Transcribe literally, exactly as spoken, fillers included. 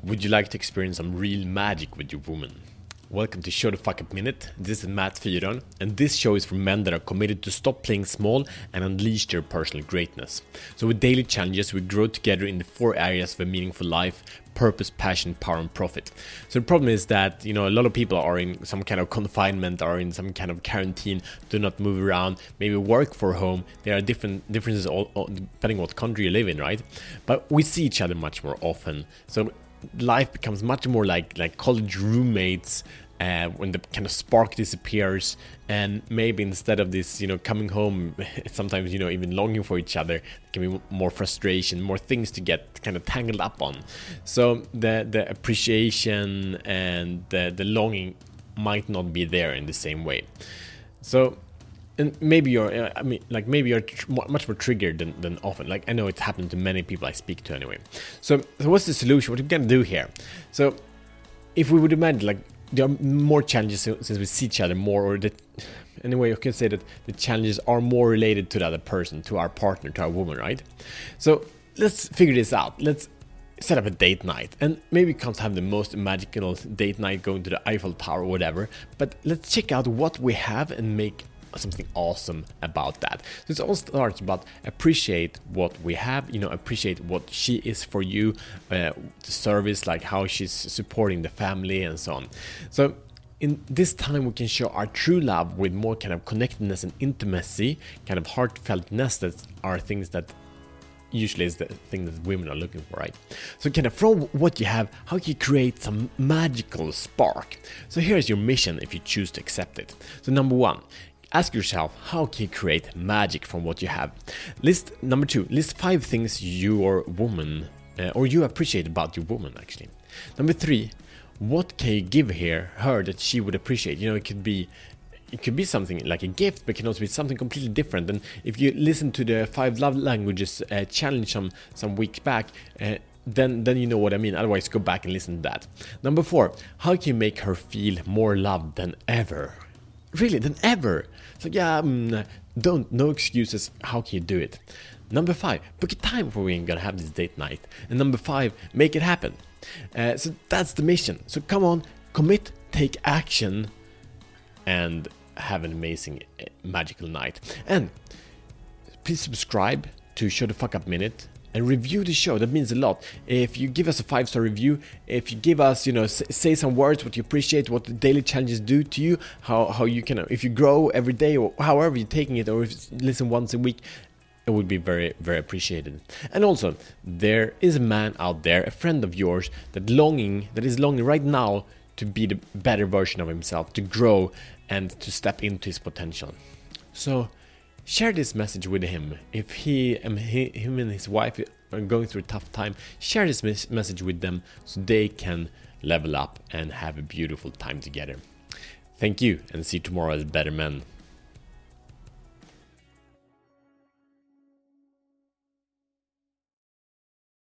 Would you like to experience some real magic with your woman? Welcome to Show the Fuck Up Minute. This is Matt Fyron, and this show is for men that are committed to stop playing small and unleash their personal greatness. So with daily challenges, we grow together in the four areas of a meaningful life: purpose, passion, power, and profit. So the problem is that, you know, a lot of people are in some kind of confinement or in some kind of quarantine, do not move around, maybe work for home. There are different differences all, all, depending on what country you live in, right? But we see each other much more often. So life becomes much more like like college roommates uh, when the kind of spark disappears, and maybe instead of this, you know, coming home, sometimes, you know, even longing for each other, there can be more frustration, more things to get kind of tangled up on. So the the appreciation and the, the longing might not be there in the same way. So and maybe you're, I mean, like maybe you're tr- much more triggered than, than often. Like I know it's happened to many people I speak to anyway. So, so what's the solution? What are we gonna do here? So, if we would imagine, like, there are more challenges since we see each other more, or that, anyway, you can say that the challenges are more related to the other person, to our partner, to our woman, right? So let's figure this out. Let's set up a date night, and maybe you can't have the most magical date night going to the Eiffel Tower or whatever, but let's check out what we have and make something awesome about that. So it all starts about appreciate what we have, you know, appreciate what she is for you, uh, the service, like how she's supporting the family and so on. So in this time we can show our true love with more kind of connectedness and intimacy, kind of heartfeltness. That are things that usually is the thing that women are looking for, right? So kind of from what you have, how can you create some magical spark? So here's your mission if you choose to accept it. So number one, ask yourself, how can you create magic from what you have? List number two, list five things your woman uh, or you appreciate about your woman actually. Number three, what can you give her, her that she would appreciate? You know, it could be it could be something like a gift, but it can also be something completely different. And if you listen to the five love languages uh, challenge some some weeks back, uh, then then you know what I mean. Otherwise, go back and listen to that. Number four, how can you make her feel more loved than ever? Really, than ever. So yeah, um, don't, no excuses. How can you do it? Number five, book a time for when you're gonna have this date night. And number five, make it happen. Uh, so that's the mission. So come on, commit, take action, and have an amazing, uh, magical night. And please subscribe to Show the Fuck Up Minute. And review the show. That means a lot. If you give us a five-star review, if you give us, you know, s- say some words, what you appreciate, what the daily challenges do to you, how how you can, if you grow every day, or however you're taking it, or if you listen once a week, it would be very, very appreciated. And also, there is a man out there, a friend of yours, that longing, that is longing right now to be the better version of himself, to grow and to step into his potential. So share this message with him. If he and he, him and his wife are going through a tough time, share this mes- message with them so they can level up and have a beautiful time together. Thank you, and see you tomorrow as better men.